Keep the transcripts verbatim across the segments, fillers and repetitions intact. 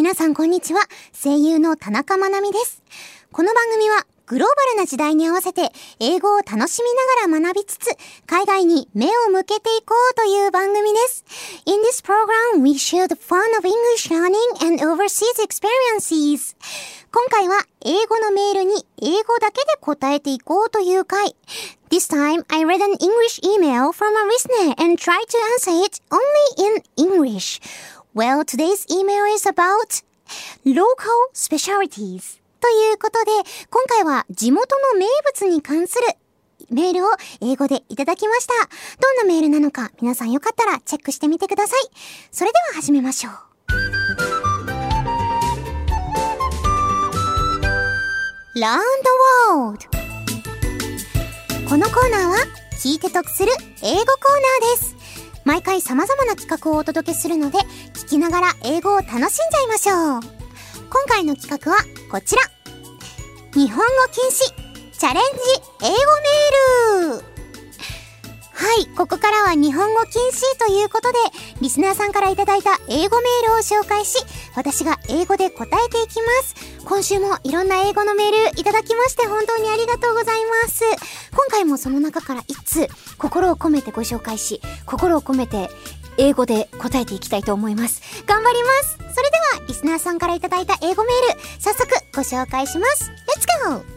皆さんこんにちは。声優の田中まなみです。この番組はグローバルな時代に合わせて英語を楽しみながら学びつつ海外に目を向けていこうという番組です。In this program, we share the fun of English learning and overseas experiences. 今回は英語のメールに英語だけで答えていこうという回。This time, I read an English email from a listener and tried to answer it only in English.Well, today's email is about local specialties. ということで、今回は地元の名物に関するメールを英語でいただきました。どんなメールなのか、皆さんよかったらチェックしてみてください。それでは始めましょう。Learn the World。このコーナーは、聞いて得する英語コーナーです。毎回様々な企画をお届けするので、聞きながら英語を楽しんじゃいましょう。今回の企画はこちら。日本語禁止チャレンジ英語メール。はい、ここからは日本語禁止ということで、リスナーさんからいただいた英語メールを紹介し、私が英語で答えていきます。今週もいろんな英語のメールいただきまして本当にありがとうございます。今回もその中から一通心を込めてご紹介し、心を込めて英語で答えていきたいと思います。頑張ります。それではリスナーさんからいただいた英語メール、早速ご紹介します。Let's go!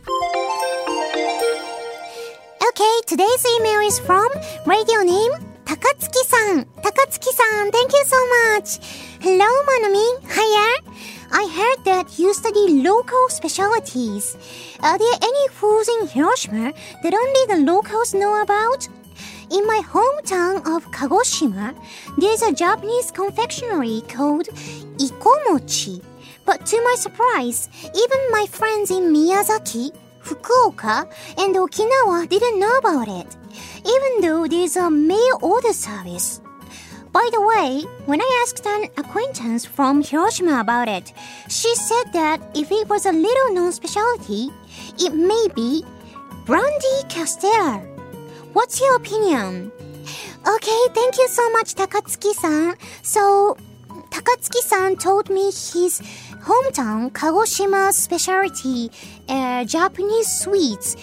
Okay, today's email is from radio name 高月さん。高月さん Thank you so much. Hello, Manami. Hiya. I heard that you study local specialties. Are there any foods in Hiroshima that only the locals know about? In my hometown of Kagoshima, there's a Japanese confectionery called Ikomochi. But to my surprise, even my friends in Miyazaki, Fukuoka, and Okinawa didn't know about it, even though there's a mail order service.By the way, when I asked an acquaintance from Hiroshima about it, she said that if it was a little-known specialty, it may be brandy castella. What's your opinion? Okay, thank you so much, Takatsuki-san. So, Takatsuki-san told me his hometown, Kagoshima's specialty, uh, Japanese sweets,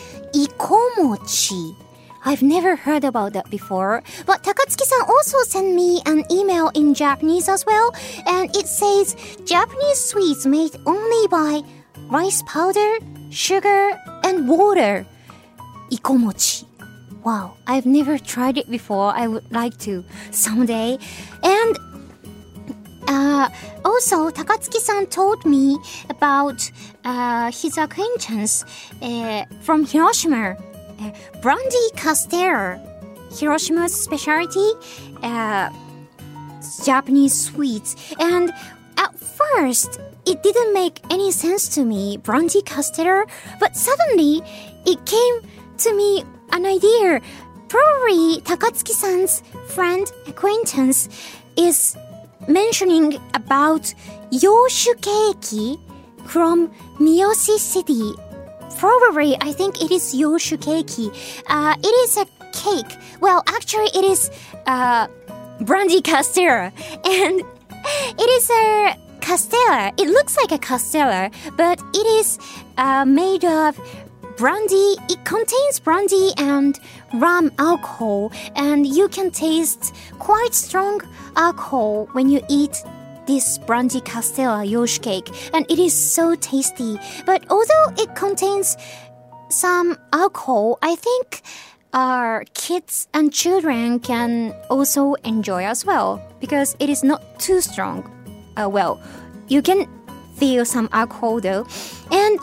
ikomochi.I've never heard about that before, but Takatsuki-san also sent me an email in Japanese as well, and it says Japanese sweets made only by rice powder, sugar, and water. Ikomochi. Wow, I've never tried it before. I would like to someday. And uh, also, Takatsuki-san told me about uh, his acquaintance uh, from Hiroshima.Uh, brandy castella, Hiroshima's specialty, uh, Japanese sweets. And at first, it didn't make any sense to me, brandy castella, but suddenly it came to me an idea. Probably Takatsuki-san's friend, acquaintance, is mentioning about Yoshu Keiki from Miyoshi City.Probably, I think it is Yoshu Keiki. Uh, it is a cake. Well, actually, it is uh, brandy castella. And it is a castella. It looks like a castella, but it is uh, made of brandy. It contains brandy and rum alcohol. And you can taste quite strong alcohol when you eat.This brandy castella Yoshu cake, and it is so tasty. But although it contains some alcohol, I think our kids and children can also enjoy as well because it is not too strong. Uh, well, you can feel some alcohol though. And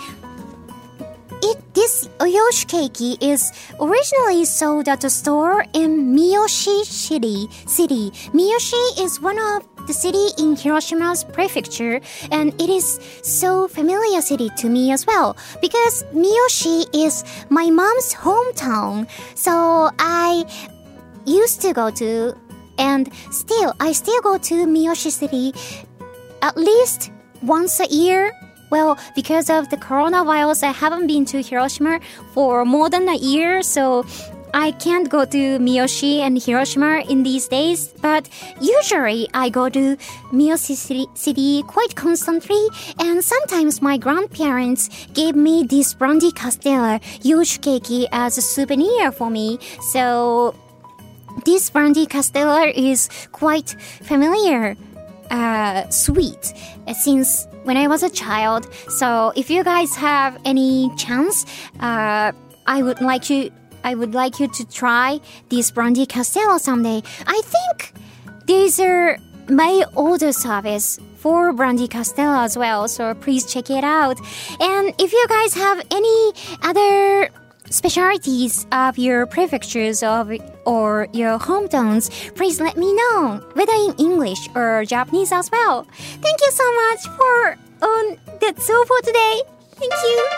it, this Yoshu cake is originally sold at a store in Miyoshi City. City. Miyoshi is one of the city in Hiroshima's prefecture, and it is so familiar city to me as well because Miyoshi is my mom's hometown. So I used to go to, and still I still go to Miyoshi City at least once a year. Well, because of the coronavirus, I haven't been to Hiroshima for more than a year, so I can't go to Miyoshi and Hiroshima in these days, but usually I go to Miyoshi city, city quite constantly, and sometimes my grandparents gave me this brandy castella yoshikeiki as a souvenir for me. So this brandy castella is quite familiar, uh, sweet uh, since when I was a child. So if you guys have any chance, uh, I would like you, I would like you to try this brandy castella someday. I think these are my order service for brandy castella as well, so please check it out. And if you guys have any other specialities of your prefectures of or your hometowns, please let me know, whether in English or Japanese as well. Thank you so much for on that's all for today. Thank you.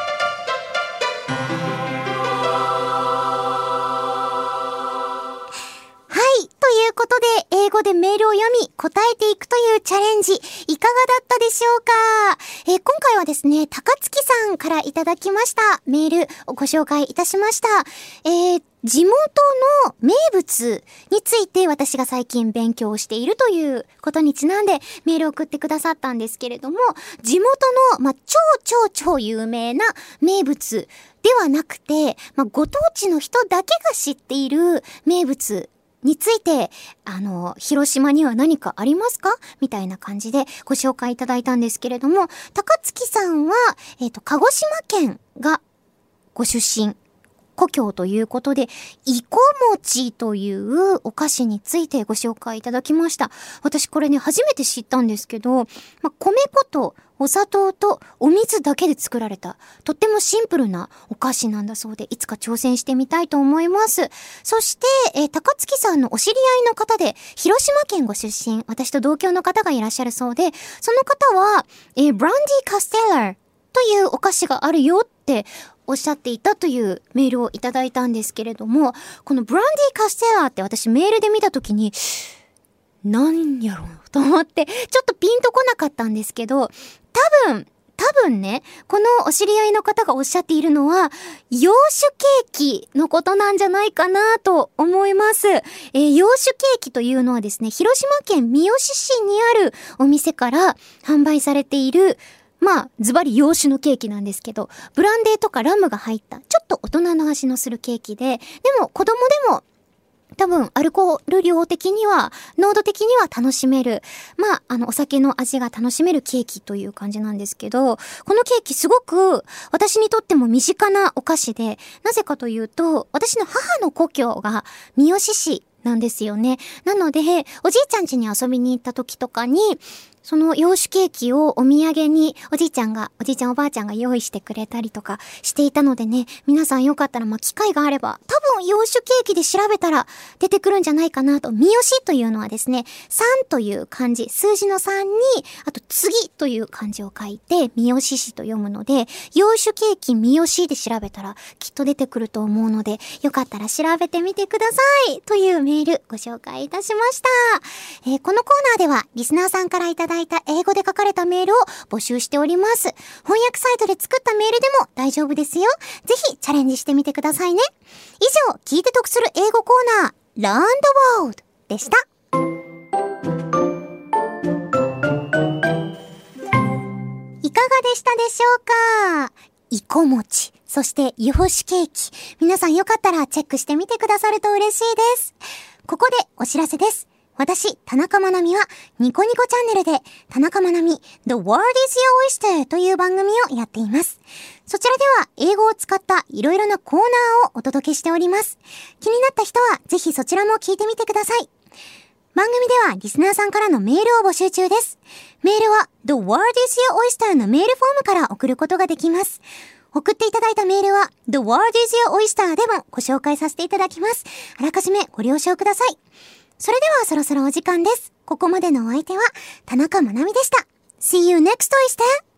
はい、ということで英語でメールを読み答えていくというチャレンジ、いかがだったでしょうか。えー、今回はですね、高月さんからいただきましたメールをご紹介いたしました。えー、地元の名物について私が最近勉強しているということにちなんでメールを送ってくださったんですけれども、地元の、まあ、超超超有名な名物ではなくて、まあ、ご当地の人だけが知っている名物について、あの、広島には何かありますかみたいな感じでご紹介いただいたんですけれども、高月さんは、えっと、鹿児島県がご出身、故郷ということで、いこもちというお菓子についてご紹介いただきました。私これね、初めて知ったんですけど、まあ、米粉とお砂糖とお水だけで作られた、とってもシンプルなお菓子なんだそうで、いつか挑戦してみたいと思います。そして、えー、高月さんのお知り合いの方で、広島県ご出身、私と同郷の方がいらっしゃるそうで、その方は、えー、ブランディカステラというお菓子があるよっておっしゃっていたというメールをいただいたんですけれども、このブランディカステラって私メールで見たときに、なんやろうと思って、ちょっとピンとこなかったんですけど、多分、多分ね、このお知り合いの方がおっしゃっているのは、洋酒ケーキのことなんじゃないかなと思います。えー、洋酒ケーキというのはですね、広島県三次市にあるお店から販売されている、まあ、ズバリ洋酒のケーキなんですけど、ブランデーとかラムが入った、ちょっと大人の味のするケーキで、でも子供でも、多分、アルコール量的には、濃度的には楽しめる。まあ、あの、お酒の味が楽しめるケーキという感じなんですけど、このケーキすごく、私にとっても身近なお菓子で、なぜかというと、私の母の故郷が三次市なんですよね。なので、おじいちゃん家に遊びに行った時とかに、その洋酒ケーキをお土産におじいちゃんが、おじいちゃんおばあちゃんが用意してくれたりとかしていたのでね、皆さんよかったら、まあ、機会があれば、多分洋酒ケーキで調べたら出てくるんじゃないかなと。三次というのはですね、さんという漢字、数字のさんに、あと次という漢字を書いて、三次市と読むので、洋酒ケーキ三次で調べたらきっと出てくると思うので、よかったら調べてみてくださいというメールご紹介いたしました。えー、このコーナーでは、リスナーさんからいただいた英語で書かれたメールを募集しております。翻訳サイトで作ったメールでも大丈夫ですよ。ぜひチャレンジしてみてくださいね。以上、聞いて得する英語コーナー、Learn the World でした。いかがでしたでしょうか？いこもち、そして洋酒ケーキ。皆さんよかったらチェックしてみてくださると嬉しいです。ここでお知らせです。私、田中まなみは、ニコニコチャンネルで、田中まなみ The World is Your Oyster という番組をやっています。そちらでは、英語を使ったいろいろなコーナーをお届けしております。気になった人は、ぜひそちらも聞いてみてください。番組では、リスナーさんからのメールを募集中です。メールは、The World is Your Oyster のメールフォームから送ることができます。送っていただいたメールは、The World is Your Oyster でもご紹介させていただきます。あらかじめご了承ください。それではそろそろお時間です。ここまでのお相手は田中まなみでした。See you next Oyster!